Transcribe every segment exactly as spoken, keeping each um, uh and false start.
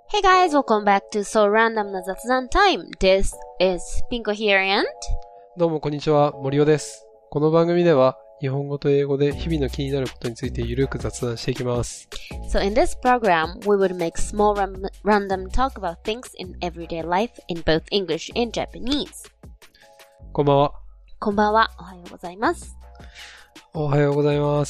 Hey guys, welcome back to So Random な雑談 Time. This is Pinko here and... どうもこんにちは、森尾です。この番組では日本語と英語で日々の気になることについてゆるく雑談していきます。 So in this program, we would make small ram- random talk about things in everyday life in both English and Japanese. こんばんは。 こんばんは。おはようございます。 おはようございます。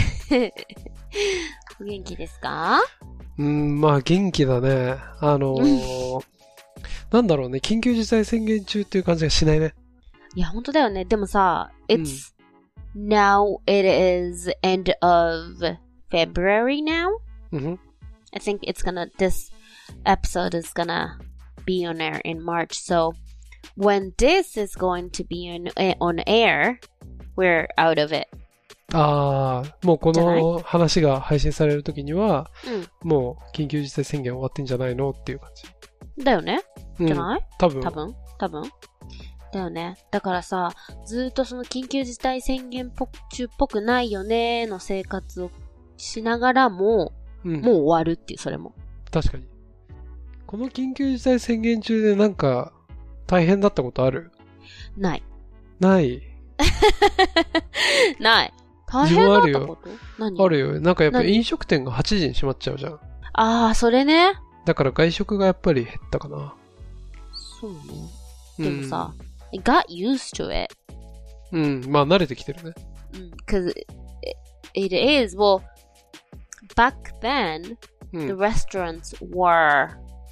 お元気ですか？ うーん、まあ元気だね。あのー、なんだろうね、緊急事態宣言中っていう感じがしないね。 いや、本当だよね。でもさ、it's、うん、now it is end of February now. Mm-hmm. I think it's gonna, this episode is gonna be on air in March. So when this is going to be on, on air, we're out of it. ああ、もうこの話が配信されるときには、 うん、 もう緊急事態宣言終わってんじゃないのっていう感じ。 だよね、 うん、 じゃない？ 多分。 多分多分だよね。だからさ、ずーっとその緊急事態宣言中っぽくないよねの生活をしながらも、うん、もう終わるっていう、それも。 確かに。この緊急事態宣言中でなんか大変だったことある？ ない。 ない。 ない。大変だったこと？何？ あるよ。なんかやっぱ飲食店がはちじに閉まっちゃうじゃん。 ああ、それね。 だから外食がやっぱり減ったかな。 そうね。でもさ、うん、I got used to it. うん、まあ慣れてきてるね。 うん、cause it, it is, well, back then, うん、the restaurants were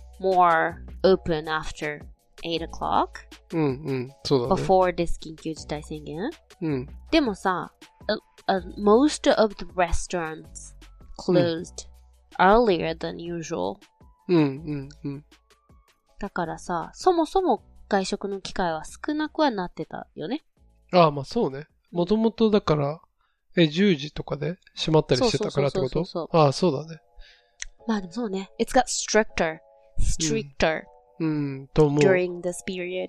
more open after eight o'clock. うんうん、そうだね。 before this 緊急事態宣言。 うん。 でもさ、uh, uh, most of the restaurants closed、うん、earlier than usual. うんうんうん。 だからさ、そもそも外食の機会は少なくはなってたよね。 ああ、まあそうね。もともとだから、え、じゅうじとかで閉まったりしてたからってこと？ああ、そうだね。 まあでもそうね。It's got stricter, stricter、 うん、うん、と思う。 during this period.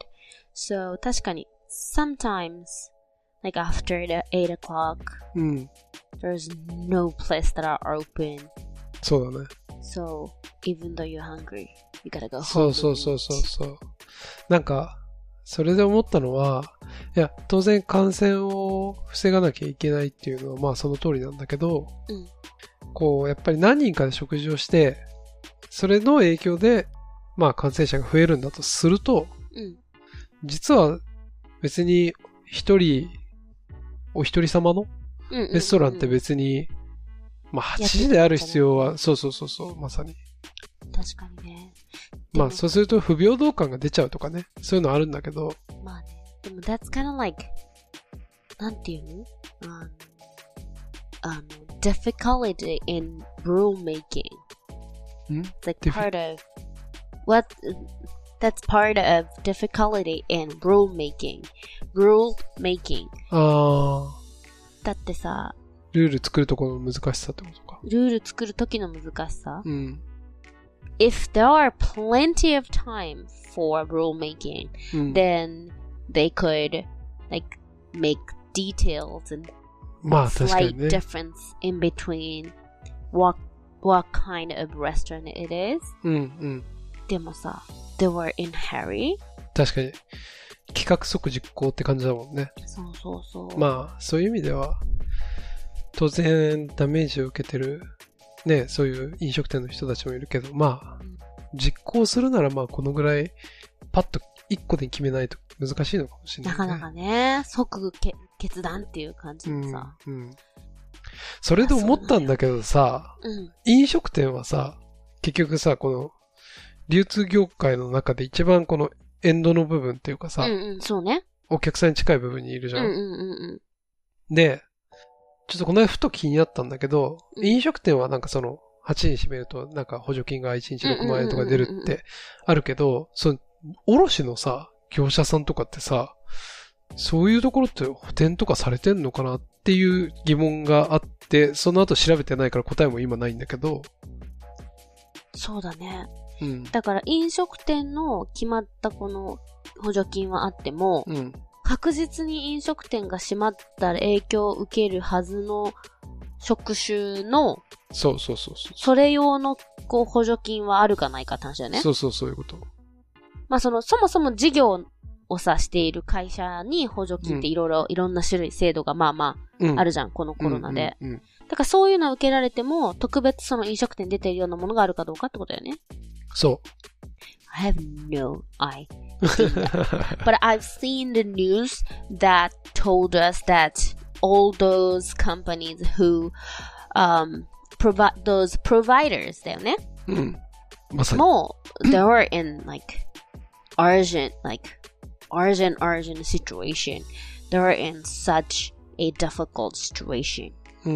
So 確かに、sometimes, like after the eight o'clock, うん、 there's no place that are open. そうだね。 So, even though you're hungry, you gotta go home. そうそうそうそうそう。なんか、それで思ったのは、いや、当然感染を防がなきゃいけないっていうのは、まあその通りなんだけど、 うん、 こう、やっぱり何人かで食事をして、それの影響で、まあ感染者が増えるんだとすると、 うん、 実は別に一人、お一人様のレストランって別に、まあはちじである必要は、そうそうそうそう、まさに。 確かにね。 まあそうすると不平等感が出ちゃうとかね、そういうのあるんだけど。 まあね。でも that's kind of like なんていうの？あの、あの difficulty in rule making. ん It's like part of what that's part of difficulty in rule making. Rule making. ああ。 だってさ、 ルール作るところの難しさってことか。 ルール作るときの難しさ？ うん。 If there are plenty of time for rule making, うん、 then they could like make details and まあ確かに slight ね。 difference in between what what kind of restaurant it is. うんうん。 でもさ、they were in hurry. 確かに企画即実行って感じだもんね。 そうそうそう。 まあそういう意味では当然ダメージを受けてるね、そういう飲食店の人たちもいるけど、まあ、うん、実行するならまあこのぐらいパッと一個で決めないと難しいのかもしれない、ね。なかなかね、即け決断っていう感じでさ、 うんうん。それで思ったんだけどさ、 うん、 飲食店はさ、結局さ、この流通業界の中で一番このエンドの部分っていうかさ、 うんうん、そうね。 お客さんに近い部分にいるじゃん。 うんうんうんうん、で、ちょっとこの間ふと気になったんだけど、うん、飲食店はなんかそのはちにち閉めるとなんか補助金がいちにちろくまんえんとか出るってあるけど、その卸のさ、業者さんとかってさ、そういうところって補填とかされてんのかなっていう疑問があって、その後調べてないから答えも今ないんだけど。 そうだね。 うん、 だから飲食店の決まったこの補助金はあっても、 うん、 確実に飲食店が閉まったら影響を受けるはずの職種のそうそうそうそう。 それ用の、こう、補助金はあるかないかって話だよね。 そうそう、そういうこと。 まあ、その、そもそも事業をさしている会社に補助金っていろいろ、いろんな種類、制度がまあまあ、あるじゃん、うん、このコロナで、うんうんうん。だからそういうのを受けられても、特別その飲食店に出ているようなものがあるかどうかってことだよね。 そう。 I have no idea. But I've seen the news that told us that all those companies who um, provide those providers だよね。 うん。まさに。 もう、they were in like urgent, like urgent, urgent situation. They were in such a difficult situation. うん、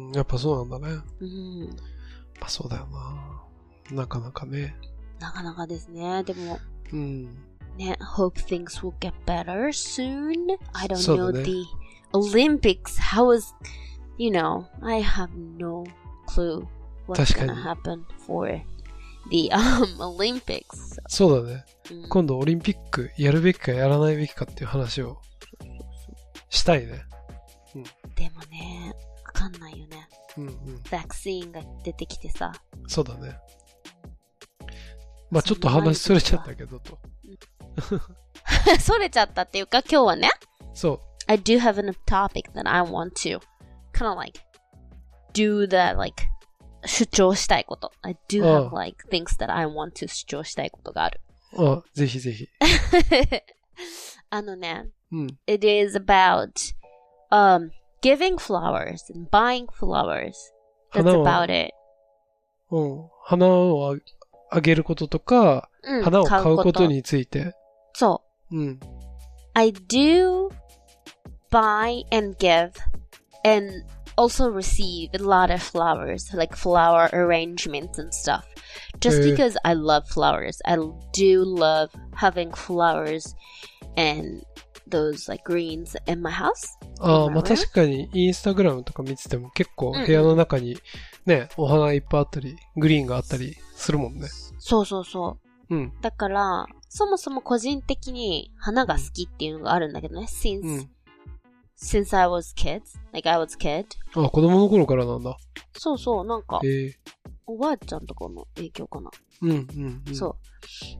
やっぱそうなんだね。 うん。 まあそうだよな。なかなかね。 なかなかですね。でも、 うん。 ね、hope things will get better soon. I don't know the Olympics. How is, you know, I have no clue what's gonna happen for the um, Olympics. そうだね、うん。今度オリンピックやるべきかやらないべきかっていう話をしたいね。 うん、でもね、わかんないよね。 うんうん。 ワクチンが出てきてさ。 そうだね。まあちょっと話それちゃったけどと。 それちゃったっていうか今日はね。 そう。 I do have a topic that I want to kind of like do the like 主張したいこと。I do have like things that I want to 主張したいことがある。 ああ、ぜひぜひ。 あのね、 うん、 It is about um, giving flowers and buying flowers. That's about it. うん。花をあげることとか、うん、花を買うことについて。 そう。 うん。 I do buy and give and also receive a lot of flowers, like flower arrangements and stuff. Just because I love flowers. I do love having flowers and those like greens in my house. ああ、まあ確かにインスタグラムとか見てても結構部屋の中にね、うんうん、お花いっぱいあったり、グリーンがあったりするもんね。 そうそうそう。 うん。 だから、そもそも個人的に花が好きっていうのがあるんだけどね。since,、うん、since I was kids, like I was kid. あ、子供の頃からなんだ。 そうそう、なんか、 えー、 おばあちゃんとかの影響かな。 うんうんうん。 そう。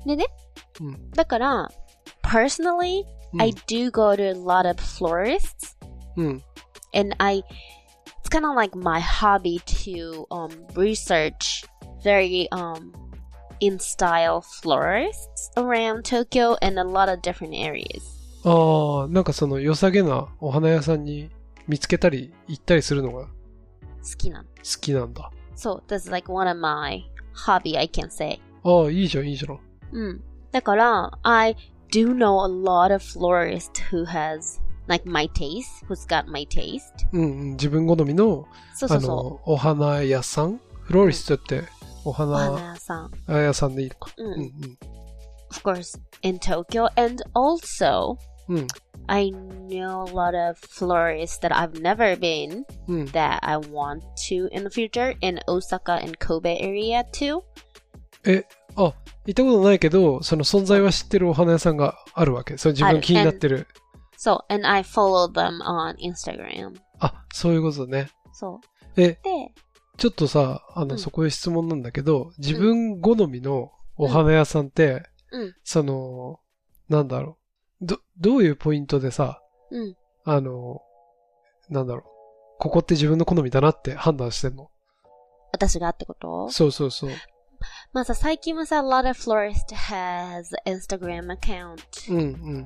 でね、 うん、 だから、personally,、うん、I do go to a lot of florists. うん。 And I, it's kind of like my hobby to um, research very um, in style florists around Tokyo and a lot of different areas. ああ、なんかその良さげなお花屋さんに見つけたり行ったりするのが好きなの。 好きなんだ。 そう、that's like one of my hobby, I can say. ああ、いいじゃん、いいじゃん。 うん。だから、I do know a lot of florists who has like my taste, who's got my taste. うんうん、自分好みの、 そうそうそう。 あの、お花屋さんフローリストって、お花、 お花屋さん。 屋さんでいいのか。 うん。うんうん、of course, in Tokyo, and also, うん、 I know a lot of florists that I've never been、うん、that I want to in the future in Osaka and Kobe area too. え、あ、行ったことないけど、その存在は知ってるお花屋さんがあるわけ。それ自分気になってる。 そう、and I follow them on Instagram. あ、そういうことね。 そう。 え、 で、 ちょっとさ、あの、うん、そこで質問なんだけど、自分好みのお花屋さんって、 うん、 その、なんだろう。ど、どういうポイントでさ、 うん、 あの、なんだろう。ここって自分の好みだなって判断してんの？ 私がってこと？そうそうそう。 まあさ、最近はさ、a lot of florists has Instagram account. うんうん。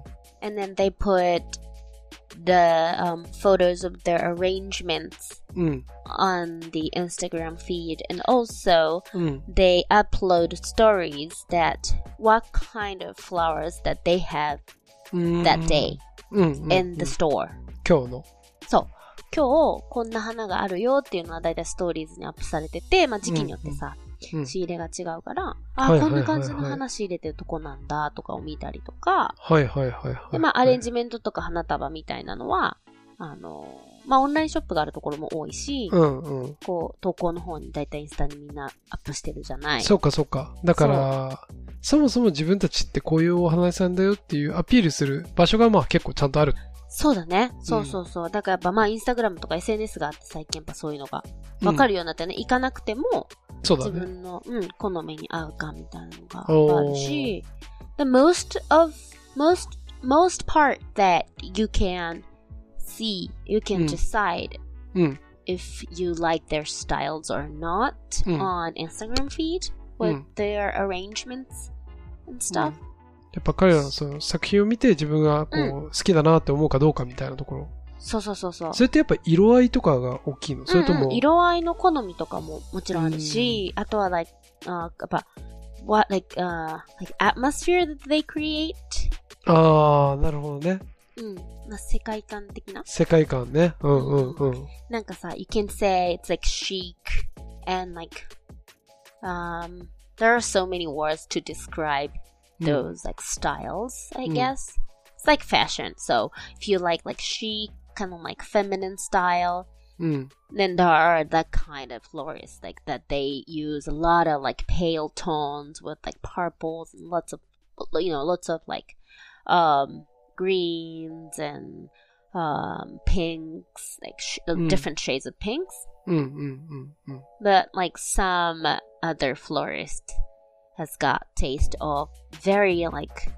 And then they put the um, photos of their arrangements、 うん、 on the Instagram feed. And also, うん、 they upload stories that what kind of flowers that they have that day、 うんうん、 in the store. 今日のそう。今日こんな花があるよっていうのはだいたいストーリーズにアップされてて、まあ時期によってさ、うんうん、仕入れが違うから、あ、こんな感じの花仕入れてるとこなんだとかを見たりとか、 はいはいはいはい。 で、まあアレンジメントとか花束みたいなのは、あの、まあオンラインショップがあるところも多いし、 うんうん、 こう、投稿の方にだいたいインスタにみんなアップしてるじゃない。 そうかそうか。だから、そもそも自分たちってこういうお花屋さんだよっていうアピールする場所がまあ結構ちゃんとある。 そうだね。そうそうそう。うん、だからやっぱまあインスタグラムとか エスエヌエス があって最近やっぱそういうのがわかるようになってね、うん、行かなくても、 そうだね、 自分の、うん、好みに合うかみたいなのがあるし、the most of, most, most part that you can see, you can decide、うん、if you like their styles or not、うん、on Instagram feed with、うん、their arrangements and stuff、うん、 やっぱ彼らのその作品を見て自分がこう、うん、好きだなって思うかどうかみたいなところ。 そうそうそうそう。 それってやっぱ色合いとかが大きいの？それとも、 うんうん、色合いの好みとかももちろんあるし、あとは like、uh, やっぱ what like、uh, like atmosphere that they create。 ああ、なるほどね。 うん。まあ、世界観的な。 世界観ね。うんうんうん。 なんかさ、you can say it's like chic and like um there are so many words to describe those、うん、like styles, I guess.、うんIt's like fashion. So if you like like chic, kind of like feminine style, mm. then there are that kind of florists like that they use a lot of like pale tones with like purples and lots of, you know, lots of like um greens and um pinks, like sh- mm. different shades of pinks. Mm, mm, mm, mm. But like some other florist has got taste of very like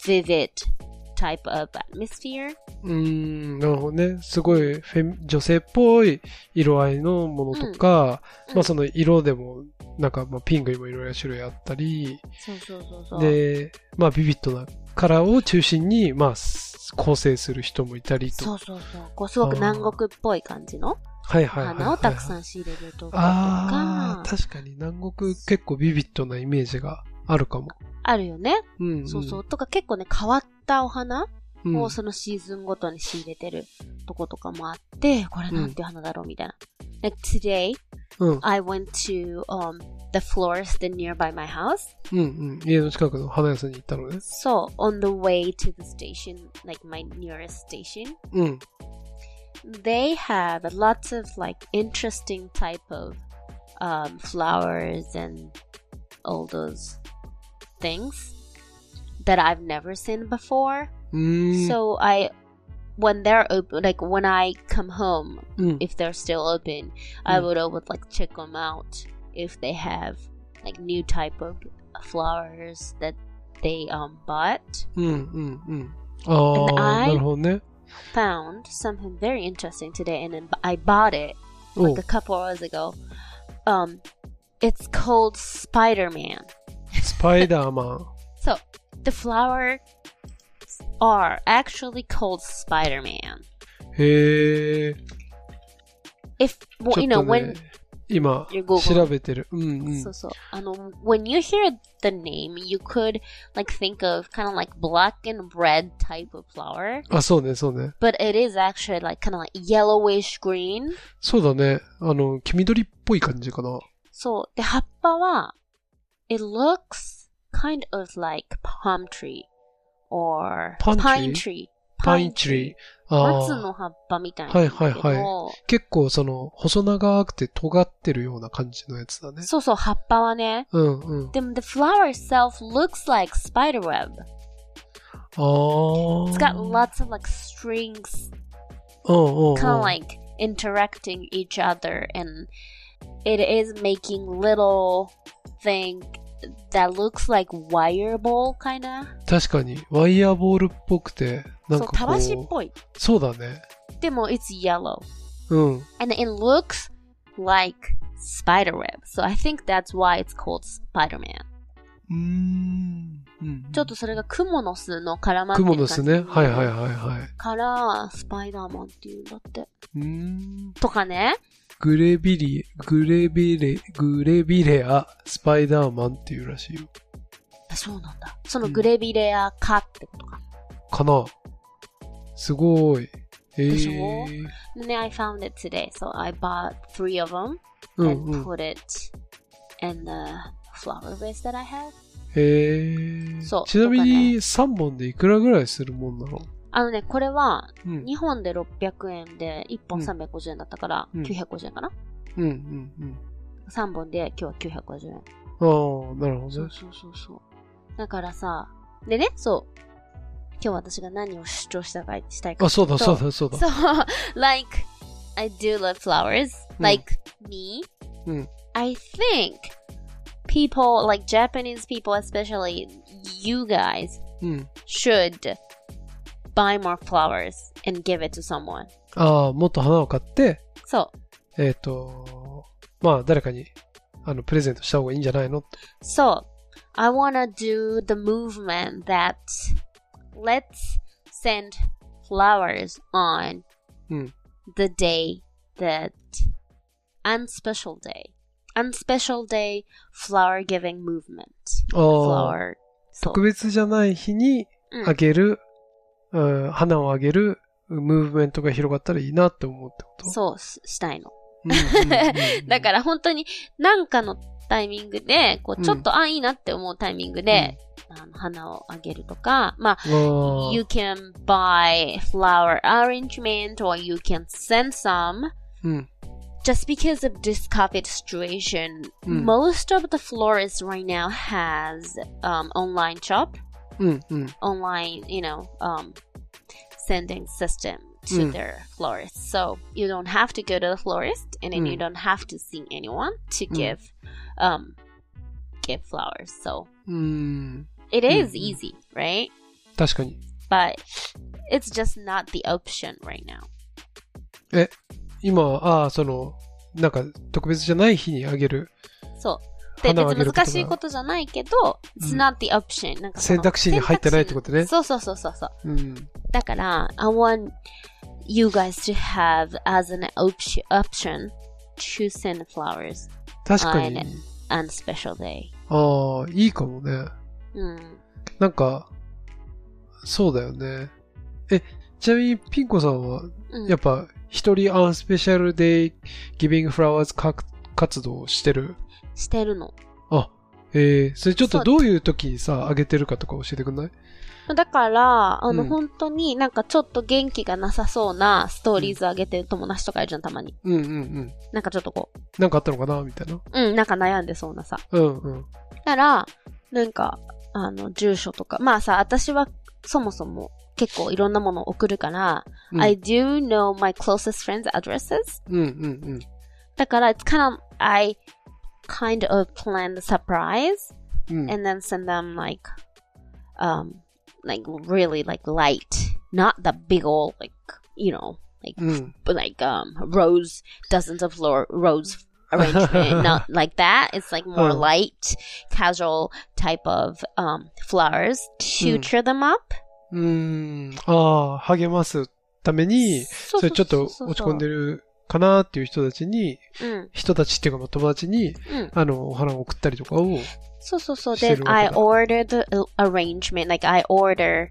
vivid.type of atmosphere. うーん、なるほどね。すごいフェ女性っぽい色合いのものとか、うん、まあその色でもなんかまあピンクにもいろいろ種類あったり、 そうそうそうそう。 で、まあビビッドなカラーを中心にまあ構成する人もいたりと。 そうそうそう。こうすごく南国っぽい感じの花をたくさん仕入れるとか。 ああ、確かに南国結構ビビッドなイメージがあるかも。 あるよね。 うんうん、 そうそう。とか結構ね、変わったお花をそのシーズンごとに仕入れてるとことかもあって、これなんていう花だろうみたいな。Like today,、うん、I went to、um, the florist nearby my house. うんうん。家の近くの花屋さんに行ったのね。 そう。on the way to the station, like my nearest station. うん。 They have lots of like interesting type of、um, flowers and all those things that I've never seen before.、Mm. So I, when they're open, like when I come home,、mm. if they're still open,、mm. I would always like check them out if they have like new type of flowers that they um bought. うんうんうん。ああ、なるほどね。 Found something very interesting today, and then I bought it like a couple hours ago. Um, it's called Spider-Man. Spider-Man. So the flower.are actually called Spider-Man. へえ。 If, well, you know, when 今調べてる。うんうん。 そうそう。あの、when you hear the name, you could like think of kind of like black and red type of flower. あ、そうね、そうね。 But it is actually like kind of like yellowish green. そうだね。あの、黄緑っぽい感じかな。 そう。で、葉っぱは、it looks kind of like palm tree.or pine tree. Pine tree. 松の葉っぱみたいな。 はいはいはい。結構その細長くて尖ってるような感じのやつだね。 そうそう、葉っぱはね。 うんうん。 でも the flower itself looks like spider web. ああ。 It's got lots of like strings. うんうんうん。 kind of like interacting each other and it is making little thing.That looks like wire ball, kinda. 確かに、ワイヤーボールっぽくて、なんかこう。 そう、たわしっぽい。 そうだね。 でも、it's yellow. うん。 And it looks like spider web. So I think that's why it's called Spider-Man. うーん。うん、 ちょっとそれがクモの巣の絡まってる感じ。 クモの巣ね。はいはいはいはい。 から、スパイダーマンっていうんだって。 うーん。 とかね。 グレビリ、グレビレ、グレビレア、スパイダーマンっていうらしいよ。 そうなんだ。そのグレビレア科ってことか。 うん、かな。すごい。えー。 でしょ？でね、I found it today. So I bought three of them and put it in the flower vase that I have. へー。そう。ちなみにさんぼんでいくらぐらいするもんなの？ あのね、これは、にほんでろっぴゃくえんで、いっぽんさんびゃくごじゅうえんだったから、きゅうひゃくごじゅうえんかな？ うんうんうん。 さんぼんで今日はきゅうひゃくごじゅうえん。 ああ、なるほどね。 そうそうそうそう。だからさ、でね、そう。 今日私が何を主張したかしたいかあ、そうだ、そうだ、そうだ。 So, like, I do love flowers. うん Like me, うん。 I think people, like Japanese people, especially you guys, うん。 should buy more flowers and give it to someone. ああ、もっと花を買って、 そう。 えっと、まあ、誰かに、あの、プレゼントした方がいいんじゃないの？ そう。I wanna do the movement that let's send flowers on うん。 the day that unspecial day. Unspecial day flower giving movement. ああ、 Flower. そう。 特別じゃない日にうんあげる、うん花をあげるムーブメントが広がったらいいなって思うってこと？ そうし、したいの。 うんうんうんうん。 だから本当に何かのタイミングで、こう、ちょっと、 うんあ、いいなって思うタイミングで、あの、花をあげるとか、まあ、 あー you can buy flower arrangement or you can send some. うん。 Just because of this COVID situation, うん most of the florists right now has um, online shop, うんうん。 online, you know, um, sending system to うん their florists. So you don't have to go to the florist, and then うん you don't have to see anyone to うん give, um, give flowers. So うーん。 it is うんうん easy, right? 確かに。 But it's just not the option right now. え、今は、ああ、その、なんか、特別じゃない日にあげる。 そう。で、別に花をあげることが難しいことじゃないけど、it's うん not the option. なんかその選択肢に入ってないってことね。 そうそうそうそうそう。 うん。 だから、I want you guys to have as an option, option to send flowers 確か on に。 on special day. ああ、いいかもね。 うん。 なんか、そうだよね。え、ちなみにピンコさんは、 うん、 やっぱ、一人アンスペシャルデイギビングフラワーズ活動をしてる？ してるの。 あ、えー、それちょっそうとどういう時にさ、あげてるかとか教えてくんない？ だから、あの、 うん本当になんかちょっと元気がなさそうなストーリーズ上げてる友達とかいるじゃん、たまに。 うんうんうん。 なんかちょっとこなんかあったのかなみたいな。 う、うん、なんか悩んでそうなさ。 うんうん。 だから、なんか、あの、住所とか。まあさ、私はそもそも結構いろんなものを送るから、 うん I do know my closest friends' addresses. うんうんうん。 だから、it's kind of, I kind of planned a surprise うん and then send them like, um, like really like light, not the big old like, you know, like, うん like, um, rose, dozens of floor, rose arrangement, not like that. It's like more うん light, casual type of, um, flowers to うん cheer them up. うーん。ああ、励ますために、 そそれちょっと落ち込んでるかなっていう人たちに、 うん。 人たちっていうかまあ友達に、 うん。 あの、お花を送ったりとかを、 そうそうそう。 して Then るわ I けだ。 ordered the uh, arrangement. Like I order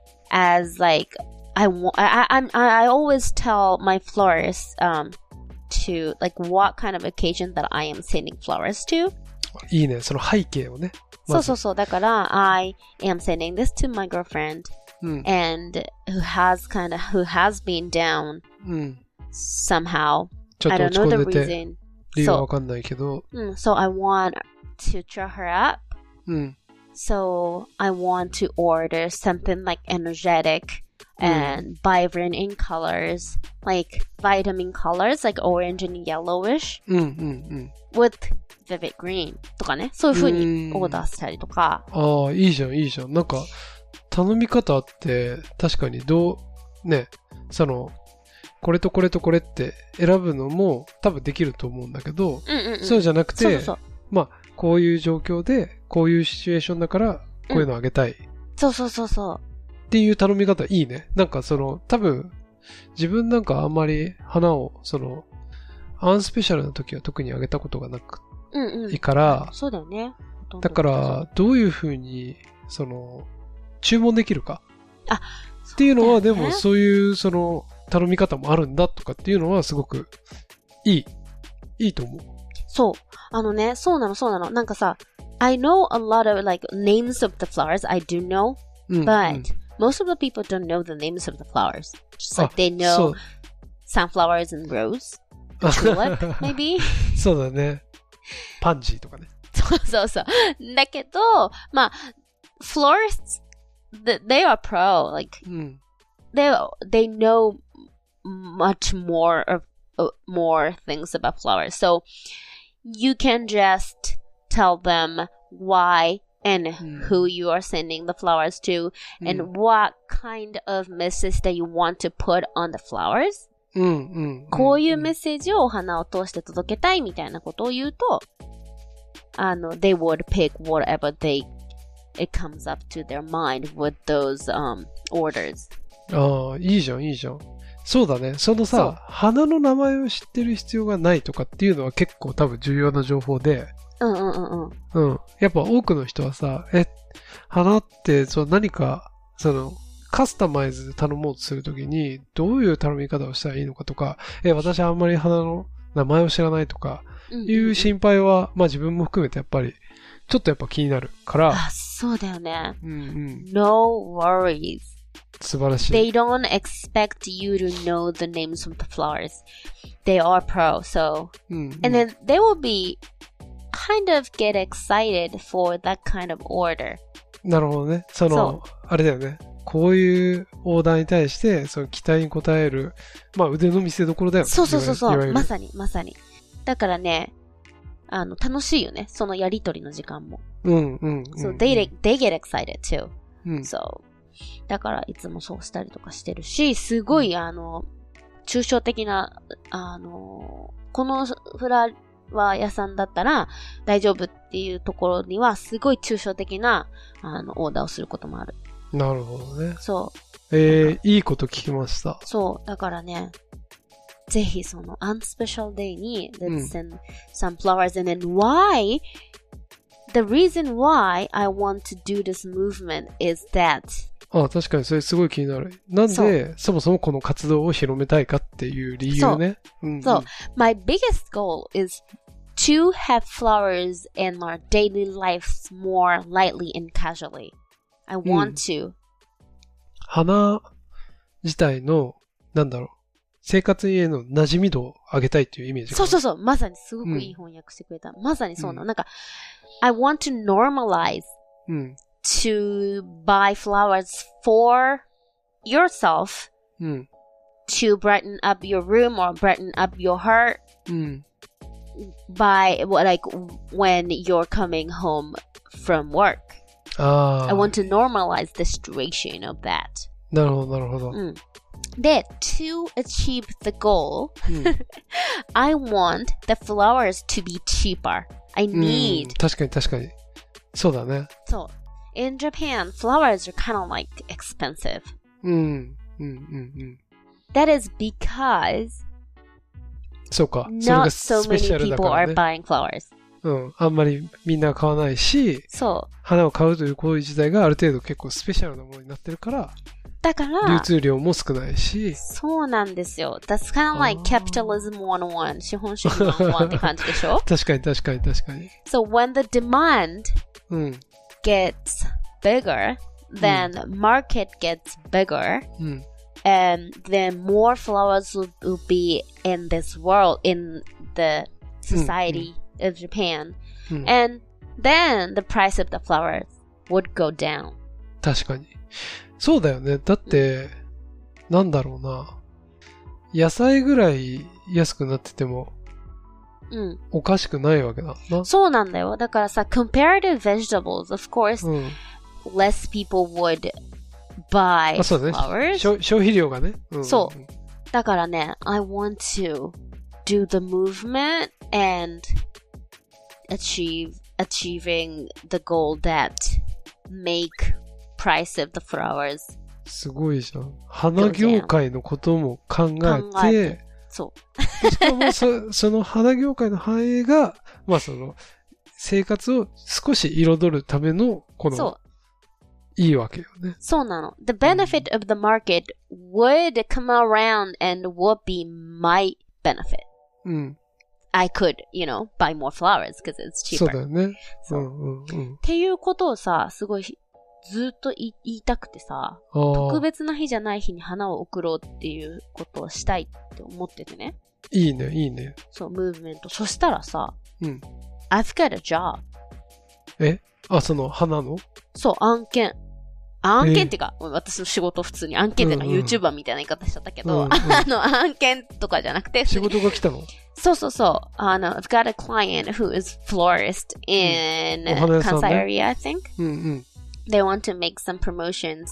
as like I want. I I I'm- I always tell my florist um to like what kind of occasion that I am sending flowers to. いいね、その背景をね。 そうそうそう。だから I am sending this to my girlfriend うん。 and who has kind of who has been down うん。 somehow. ちょっ I と don't 落ち know 込 the んでて、 reason. 理由はわそかんないけど、 う。うん。So I want to cheer her up. うん。 So I want to order something like energetic and vibrant in colors, like vitamin colors, like orange and yellowish うんうんうん。 with vivid green とかね。そういう風にうんオーダーしたりとか。 ああ、いいじゃん、いいじゃん。なんか、頼み方って、確かにどう、ね、その、これとこれとこれって選ぶのも多分できると思うんだけど、 うんうんうん。 そうじゃなくて、 そうそうそう。 まあ、こういう状況で、こういうシチュエーションだから、こういうのあげたい。っそうそうそうそう。 ていう頼み方いいね。なんかその、多分、自分なんかあんまり花を、その、アンスペシャルな時は特にあげたことがなくうんうん。 いいから、 そうだよね。 だか、ら、どういうふうに、その、注文できるか。 あ、 っていうのは、でそうだよねも、そういう、その、頼み方もあるんだとかっていうのは、すごく、いい。いいと思う。 そう。あのね、そうなの、そうなの。なんかさ、I know a lot of like names of the flowers. I do know, うん、 but うん most of the people don't know the names of the flowers. Just あ like they そ know う sunflowers and rose, tulip, maybe. そうだね。パンジーとかね。 そうそうそう。だけど、まあ、florists th- they are pro. Like, うん。 they they know much more of uh, more things about flowers. So you can just tell them why and who you are sending the flowers to, and what kind of message that you want to put on the flowers. うんうんうんうん、 こういうメッセージをお花を通して届けたいみたいなことを言うと、あの、they would pick whatever they it comes up to their mind with those um orders. ああ、いいじゃんいいじゃん。そうだね。そのそうさ、花の名前を知ってる必要がないとかっていうのは結構多分重要な情報で、 うんうんうんうん。 うん。やっぱ多くの人はさ、え、花ってそう何か、その、カスタマイズで頼もうとするときに、どういう頼み方をしたらいいのかとか、え、私あんまり花の名前を知らないとか、いう心配は、まあ自分も含めてやっぱり、ちょっとやっぱ気になるから。 あ、そうだよね。 うんうん。 No worries. 素晴らしい。 They don't expect you to know the names of the flowers. They are pro, so. うんうん、 and then they will be kind of get excited for that kind of order. なるほどね。その、あれだよね。こういうオーダーに対して、その期待に応える、まあ腕の見せ所だよね。 そうそうそうそう。まさに、まさに。だからね、あの、楽しいよね。そのやりとりの時間も。 うんうん、うん。 So they, they get excited too. うん、 so, だからいつもそうしたりとかしてるし、すごい、うん、あの、抽象的な、あの、このフラワー屋さんだったら大丈夫っていうところには、すごい抽象的な、あの、オーダーをすることもある。 なるほどね。 そう。 えー、いいこと聞きました。 そう。だからね、ぜひその unspecial day に let's send some flowers and then why the reason why I want to do this movement is that あ、確かにそれすごい気になる。なんで そ, そもそもこの活動を広めたいかっていう理由ね。 そう。うんうん、そう。My biggest goal is to have flowers in our daily lives more lightly and casually. I want to、うん、 花自体のなんだろう生活への馴染み度を上げたいっていうイメージ。 そうそうそう。まさにすごくいい翻訳してくれた。うん、まさにそうなの、うん。なんか、I want to normalize、うん、to buy flowers for yourself、うん、to brighten up your room or brighten up your heart、うん、by, like, when you're coming home from work. ああ。 I want to normalize the situation of that. なるほど、なるほど。 うんで、to achieve the goal,、うん、I want the flowers to be cheaper. I need. 確かに確かに。そうだね。 そう。In Japan, flowers are kind of like expensive. うん。うんうんうん。 That is because そうか。 not so many people are buying flowers. うん。あんまりみんな買わないし、 そう。 花を買うという行為自体がある程度結構スペシャルなものになってるから、 だから流通量も少ないし。 そうなんですよ。That's kind of like capitalism one oh one. 資本主義one oh oneって感じでしょ確かに確かに確かに。 So when the demand、うん、gets bigger, then、うん、market gets bigger,、うん、and then more flowers will, will be in this world, in the society、うん、of Japan.、うん、and then the price of the flowers would go down. 確かに。そうだよね。だって、うん、なんだろうな。野菜ぐらい安くなってても、うん、おかしくないわけだな。 そうなんだよ。だからさ、comparative vegetables, of course,、うん、less people would buy flowers. そうね。消費量がね。 うん、そう。だからね、I want to do the movement and achieve, achieving the goal that make price of the flowers. すごいじゃん。花業界のことも考えて、考えてそう。しかもそ、その花業界の繁栄が、まあその、生活を少し彩るための、この、いいわけよね。 そうなの。The benefit of the market would come around and would be my benefit. うん。 I could, you know, buy more flowers because it's cheaper. そうだよね。うんうんうん。 っていうことをさ、すごい、ずっと言いたくてさ、特別な日じゃない日に花を贈ろうっていうことをしたいって思っててね。 いいね、いいね。 そう、ムーブメント。そしたらさ、 うん。 I've got a job. えあ、その花のそう、案件。 案件っていうか、私の仕事普通に案件っていうか YouTuber みたいな言い方しちゃったけど、うんうん、あの、案件とかじゃなくて、 仕事が来たの？ そうそうそう。あの、I've got a client who is florist in Kansai area, I think. うんうん。 They want to make some promotions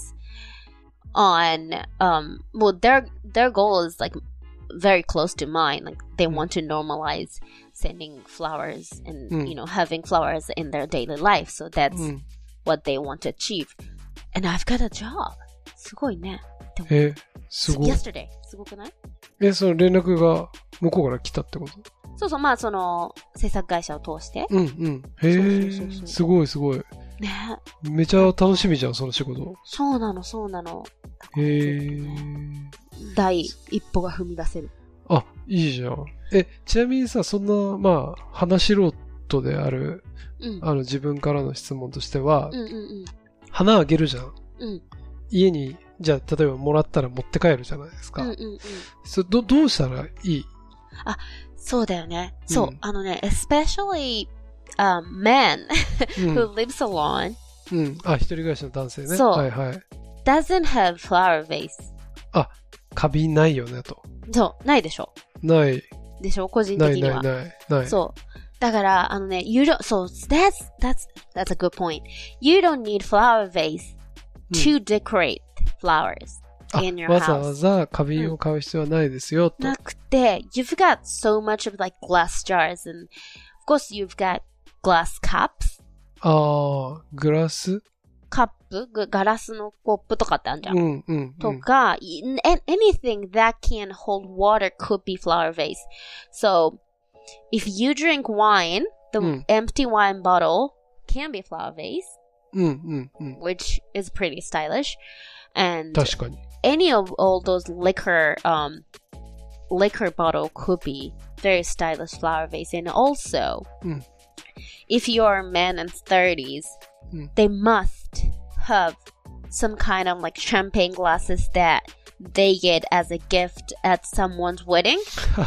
on, um, well, their, their goal is like very close to mine. Like they want to normalize sending flowers and, mm. you know, having flowers in their daily life. So that's mm. what they want to achieve. And I've got a job. すごいね。 え、すごい。 Yesterday. すごくない？ え、その連絡が向こうから来たってこと？ そうそう、まあその制作会社を通して。 うんうん。へえ、そうそうそうそう、すごいすごい。 ね。 めちゃ楽しみじゃん、その仕事。 そうなの、そうなの。 へえ。 第一歩が踏み出せる。 あ、いいじゃん。え、ちなみにさ、そんな、まあ、話しろとである、うん、あの自分からの質問としては、うんうんうん、花あげるじゃん。うん、家に、じゃあ、例えばもらったら持って帰るじゃないですか。うんうんうん、そどどうしたらいい？ あ、そうだよね。うん、そう、あのね、especially、um, men who lives alone、 うん。あ、一人暮らしの男性ね。 そう。 はいはい。 doesn't have flower vase。 あ、花瓶ないよねと。 そう、ないでしょ。 ない。 でしょ、個人的には。 ないないない。ない。 そう。だから、あのね、you don't, so that's, that's, that's a good point. You don't need flower vase to decorate flowers in your house. わざわざ花瓶を買う必要はないですよ、と。 なくて、you've got so much of like glass jars and, of course you've got glass cups. ああ、グラス？ カップガラスのコップとかってあるじゃん。 うんうんうん、 とか、anything that can hold water could be flower vase. So, if you drink wine, the、うん、empty wine bottle can be flower vase, うんうんうん、 which is pretty stylish. And 確かに。 any of all those liquor, um, liquor bottle could be very stylish flower vase. And also, うん、if you're a man in thirties,、うん、they must have some kind of like champagne glasses that they get as a gift at someone's wedding.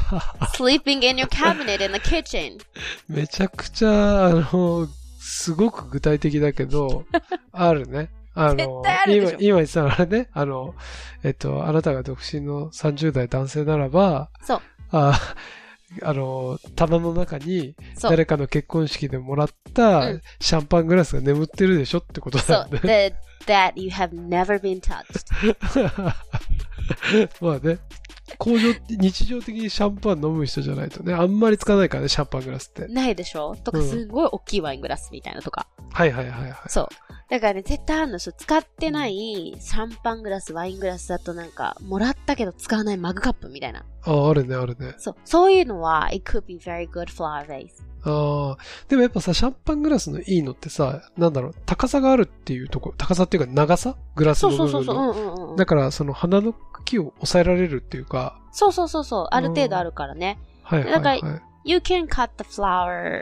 Sleeping in your cabinet in the kitchen. めちゃくちゃ、あの、すごく具体的だけど、あるね。あの、今、今言ってたのあれね、あの、えっと、あなたが独身のさんじゅう代男性ならば、 そう。 ああの、棚の中に誰かの結婚式でもらったシャンパングラスが眠ってるでしょってことなんで。 そう。that, that you have never been touched. まあね。工場、日常的にシャンパン飲む人じゃないとね、あんまり使わないからね、シャンパングラスって。 ないでしょとか、すごい大きいワイングラスみたいなとか。 うん、はいはいはいはい。 そう。だからね、絶対あるの人、使ってないシャンパングラス、ワイングラスだとなんか、もらったけど使わないマグカップみたいな。 ああ、あるね、あるね。 そう。そういうのは、it could be very good flower vase. ああ、でもやっぱさ、シャンパングラスのいいのってさ、なんだろう、高さがあるっていうところ、高さっていうか長さグラスの部分の。そうそうそうそう。うんうんうん。だから、その花の茎を抑えられるっていうか。 そうそうそうそう。ある程度あるからね。 はいはいはい。だから、 you can cut the flower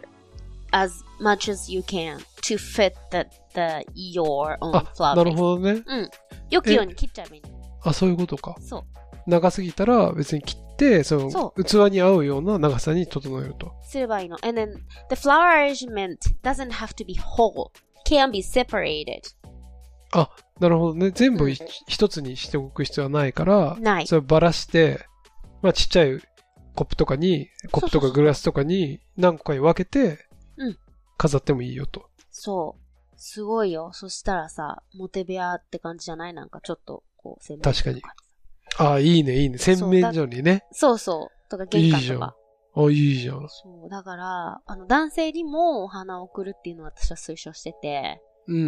as much as you can to fit the, the, your own flower vase. なるほどね。 うん。よくように切っちゃえばいいの。 あ、そういうことか。 そう。 長すぎたら別に切って、そのそう器に合うような長さに整えると。 すればいいの。And then the flower arrangement doesn't have to be whole. Can be separated. あ、なるほどね。全部一つにしておく必要はないから、 ない。 そればらして、まあちっちゃいコップとかに、コップとかグラスとかに何個かに分けて、飾ってもいいよと。 そう。すごいよ。そしたらさ、モテ部屋って感じじゃない？なんかちょっと、こう、洗面所とか。 確かに。ああ、いいね、いいね。洗面所にね。 そうそう。とか、玄関とか。 いいじゃん。あ、いいじゃん。 そう。だから、あの、男性にもお花を贈るっていうのを私は推奨してて。 うんうん、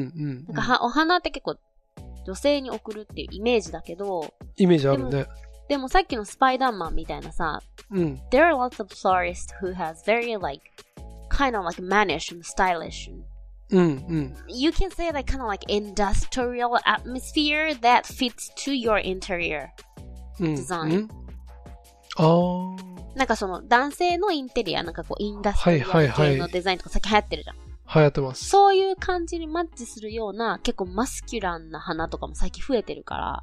なんかは、お花って結構、女性に贈るっていうイメージだけど。 イメージあるね。 でも、でもさっきのスパイダーマンみたいなさ。 うん。 There are lots of florists who has very like, kind of like mannish and stylish. And, うんうん。 You can say like kind of like industrial atmosphere that fits to your interior design. うんうん、 ああ。なんかその男性のインテリア、なんかこうインダストリアル系のデザインとか最近流行ってるじゃん。 流行ってます。 そういう感じにマッチするような結構マスキュランな花とかも最近増えてるから。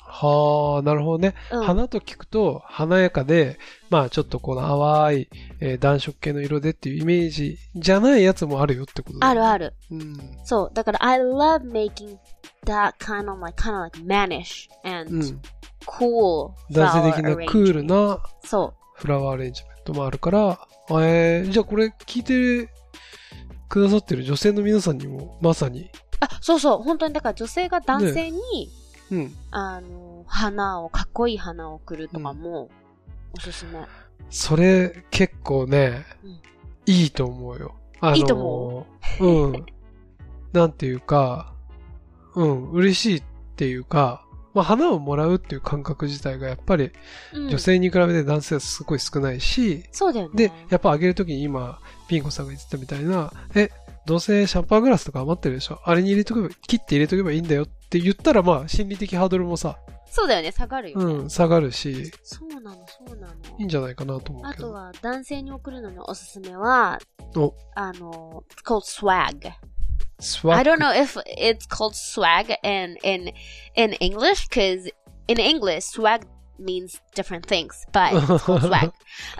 はあ、なるほどね。 うん、 花と聞くと華やかで、まあちょっとこの淡い、えー暖色系の色でっていうイメージじゃないやつもあるよってことだよね。 あるある。 うん。 そう。だから、I love making that kind of like, kind of like mannish う and ん。 cool 男性 flower 的なクール arrangement. なそフラワーアレンジメントもあるから、えー、じゃあこれ聞いてくださってる女性の皆さんにもまさに。 う。あ、そうそう。本当に、だから女性が男性に、 うん。 あの、花を、かっこいい花を送るとかも、おすすめ。 それ結構ね、 うんいいと思うよ。あのー、 いいと思うん。なんていうか、うん、嬉しいっていうか、まあ花をもらうっていう感覚自体がやっぱりうん女性に比べて男性はすごい少ないし、 そうだよね。 で、やっぱあげるときに今、ピンコさんが言ってたみたいな、え、どうせシャンパングラスとか余ってるでしょ、あれに入れとけば、切って入れとけばいいんだよって言ったら、まあ心理的ハードルもさ、 そうだよね。下がるよね。 うん、下がるし、 そうなの、そうなの。 いいんじゃないかなと思うけど。 あとは、男性に送るのにおすすめは、 お、 あの、it's called swag. スワ I ッグ don't know if it's called swag in, in, in English, because in English, swag means different things, but it's called swag.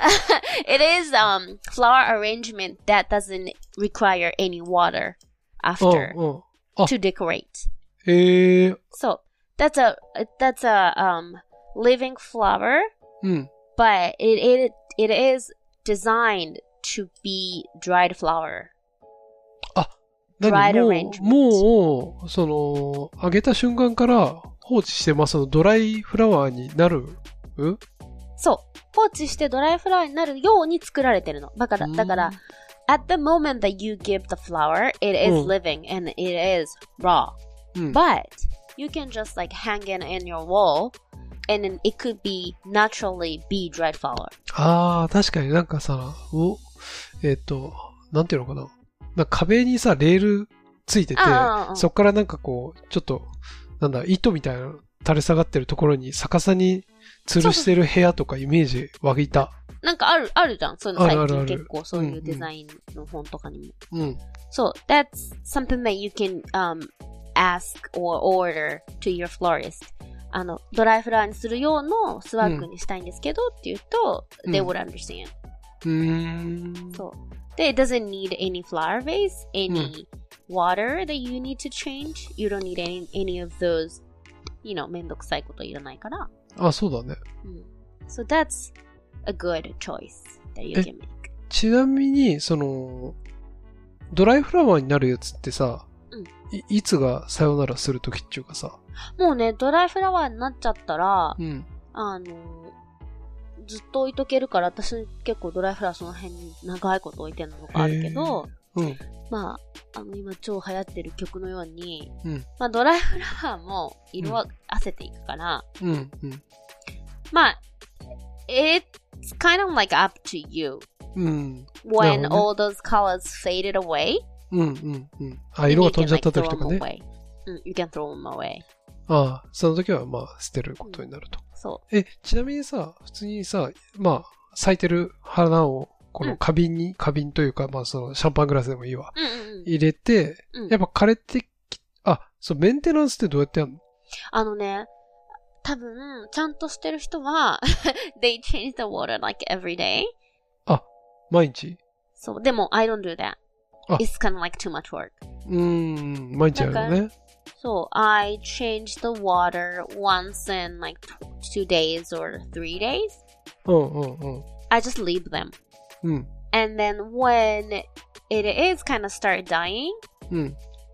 It is um flower arrangement that doesn't require any water うん after うん。あ、 to decorate. えー、 So that's a that's a um living flower, うん。 but it it it is designed to be dried flower. 何 Dried も arrangement. う、もう、その、あげた瞬間から放置してます。そのドライフラワーになるうそう。放置してドライフラワーになるように作られてるの。だから、だから、at the moment that you give the flower, it is うん living and it is raw. うん。 But you can just like hang it in your wall and then it could be naturally be dried flower. ああ、確かになんかさ、お、えっ、と、なんていうのかな。なんか壁にさ、レールついてて、 ああ、 そっからなんかこう、ちょっと、なんだ、糸みたいな垂れ下がってるところに逆さに吊るしてる部屋とかイメージ湧いた。 なんかある、あるじゃん。そういうの最近あるあるある結構そういうデザインの本とかにも。 うん。 So that's something that you can um ask or order to your florist. あの、ドライフラワーにする用のスワッグにしたいんですけどって言うと、 うん they would understand. うーん。 そう。で、it doesn't need any flower vase, any water that you need to change. You don't need any, any of those, you know, めんどくさいこといらないから。 あ、そうだね。 うん。So that's a good choice that you え can make. ちなみに、その、ドライフラワーになるやつってさ、 うんい, いつがさよならするときっていうかさ、 もうね、ドライフラワーになっちゃったら、 うん。 あの、ずっと置いとけるから、私結構ドライフラワーその辺に長いこと置いてるのがあるけど、 うん。 まあ、あの今超流行ってる曲のように、 うん。 まあドライフラワーも色あせていくから、 うん。うん。 まあ、it's kind of like up to you うん。 when なるほどね all those colors faded away. うん。うん。うん。あ、色が飛んじゃったときとか you can, ね。 like, throw them away. うん、you can throw them away. ああ、その時はまあ捨てることになると。 そえ、ちなみにさ、普通にさ、まあ、咲いてる花を、この花瓶に、花瓶というか、まあそのシャンパングラスでもいいわ。 う。うんうんうん。 入れて、 うんやっぱ枯れてき、あ、そう、メンテナンスってどうやってやるの？ あのね、多分、ちゃんとしてる人は、they change the water like every day. 毎日？ そう、でも、I don't do that. あ It's kind of like too much work. うーん、毎日やるのね。 So, I change the water once in like two days or three days. うんうんうん。 I just leave them. うん。 And then when it is kind of start dying, うん。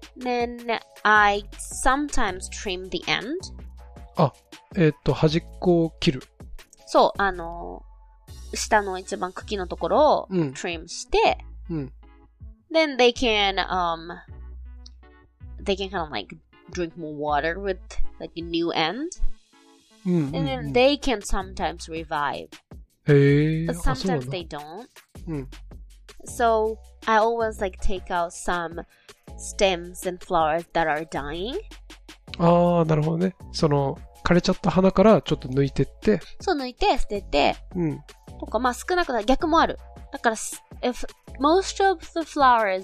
then I sometimes trim the end. えーっと、端っこを切る。 そう、あの、下の一番茎のところをうん trim して、 うん。 then they can, um, they can kind of like drink more water with like a new end. うんうん、うん。 And then they can sometimes revive. へえ。 But あ、そうなん sometimes だ。 they don't. うん。 So I always like take out some stems and flowers that are dying. ああ、なるほどね。その、枯れちゃった花からちょっと抜いてって、 そう抜いて捨てて、 うん。 とか、まあ少なくとも逆もある。だから、if most of the flowers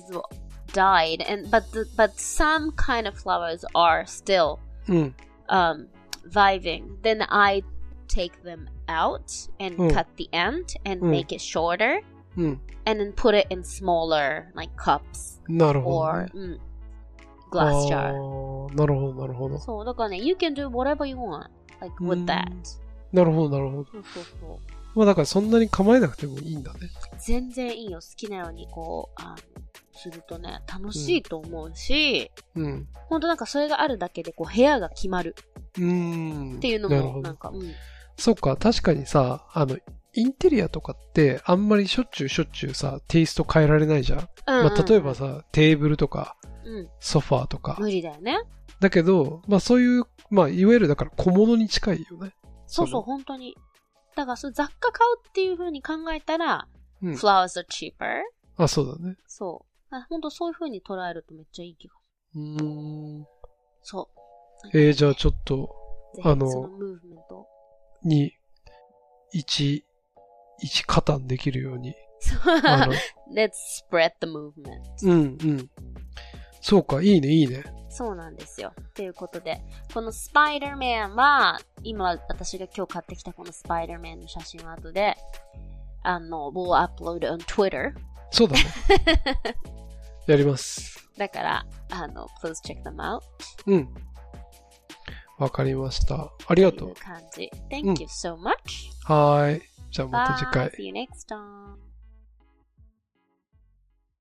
died, and but the, but some kind of flowers are still うん。 um vibing. Then I take them out and、うん、cut the end and、うん、make it shorter、うん、and then put it in smaller like cups なるほど、 ね、or、うん、glass jar なるほどなるほどそうだからね you can do whatever you want like with that なるほどなるほどそうそうそうまあだからそんなに構えなくてもいいんだね全然いいよ好きなようにこうあのするとね楽しいと思うし、うん、ほんとなんかそれがあるだけでこう部屋が決まるうーんっていうのもなんか、うん、 そっか確かにさあのインテリアとかってあんまりしょっちゅうしょっちゅうさテイスト変えられないじゃん、うんうんうんまあ、例えばさテーブルとか、うん、ソファーとか無理だよねだけどまあそういうまあいわゆるだから小物に近いよねそうそう本当にだからそ雑貨買うっていう風に考えたら、うん、flowers are cheaper あそうだねそう本当そういう風に捉えるとめっちゃいい気がするうーんそうえー、じゃあちょっとあのそのムーブメントに一一加担できるように Let's spread the movement うんうんそうかいいねいいねそうなんですよということでこのスパイダーマンは今私が今日買ってきたこのスパイダーマンの写真は後であの we'll upload on Twitter そうだねやりますだからあの please check them out うんわかりましたありがとうという感じ Thank you so much、 うん、はいじゃあまた次回 Bye, see you next time